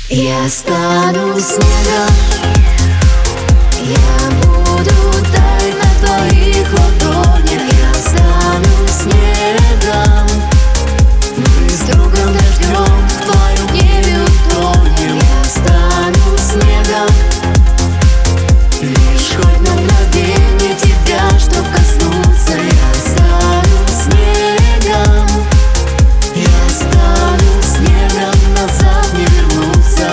Я стану снегом, я буду таять на твоих ладонях. Я стану снегом, мы с другом дождем в твоем небе утонем. Я стану снегом, лишь хоть на мгновение тебя, чтоб коснуться. Я стану снегом, я стану снегом, назад не вернуться.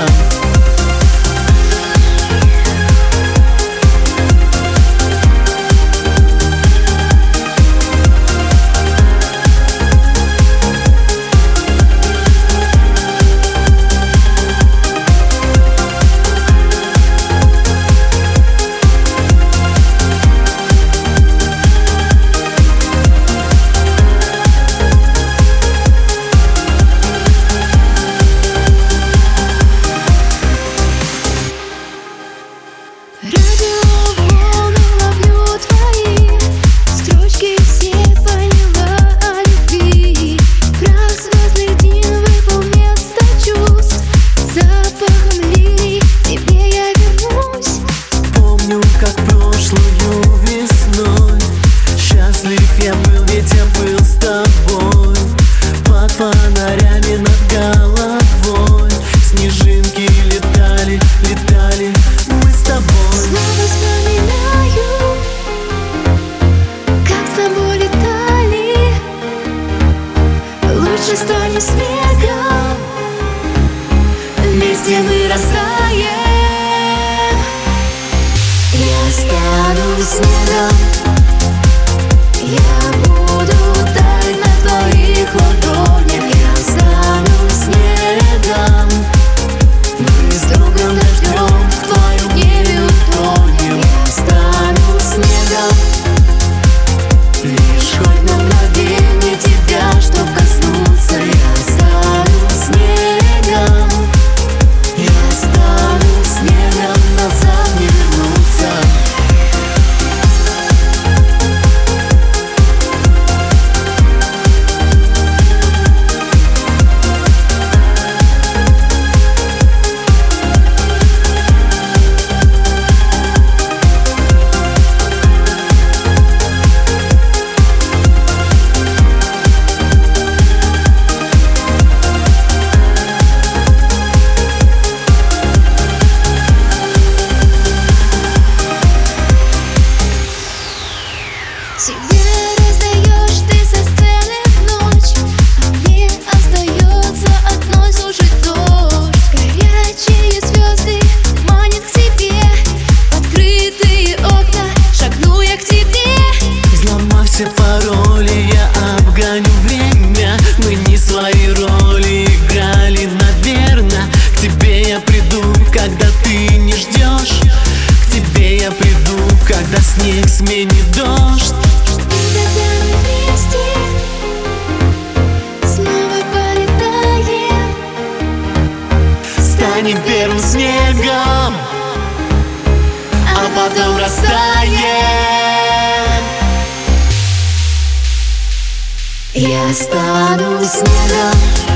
Радиоволны ловлю твои строчки, все поняла о любви. Прах звездных дней выпал вместо чувств. Запахом лилий к тебе я вернусь. Помню, как прошлую весной счастлив я был, ведь я был с тобой. Под фонарями над головой снежинки летали, летали мы с тобой. Снова вспоминаю, как с тобой летали. Лучше станем снегом, вместе мы растаем. Я стану снегом, я буду таять на твоих ладонях. Я стану снегом, мы с другом дождем в твоем небе утонем. Я стану снегом, лишь хоть на мгновение тебя, чтоб коснуться. Я стану снегом, я стану снегом, назад не вернуться. Себе раздаешь ты со сцены в ночь, а мне остается одно слушать дождь. Горячие звезды манят к тебе, открытые окна, шагну я к тебе. Взломав все пароли, я обгоню время. Мы не свои роли играли, наверно. К тебе я приду, когда ты не ждешь. К тебе я приду, когда снег сменит дождь. И тогда мы вместе снова полетаем, Станем первым снегом, а потом растаем. Я стану снегом,